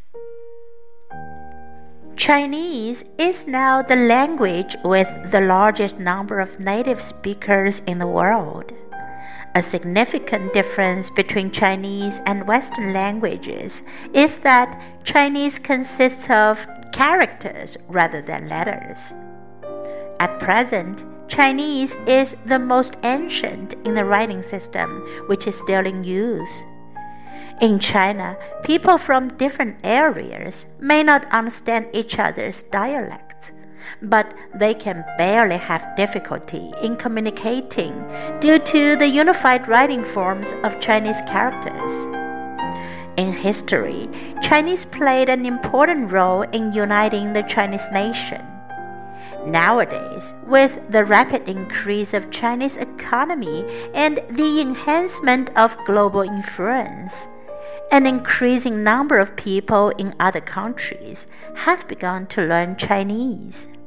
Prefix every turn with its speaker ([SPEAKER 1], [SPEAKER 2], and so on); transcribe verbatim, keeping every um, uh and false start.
[SPEAKER 1] Chinese is now the language with the largest number of native speakers in the world. A significant difference between Chinese and Western languages is that Chinese consists of characters rather than letters. At present, Chinese is the most ancient in the writing system, which is still in use. In China, people from different areas may not understand each other's dialects, but they can barely have difficulty in communicating due to the unified writing forms of Chinese characters. In history, Chinese played an important role in uniting the Chinese nation. Nowadays, with the rapid increase of Chinese economy and the enhancement of global influence, an increasing number of people in other countries have begun to learn Chinese.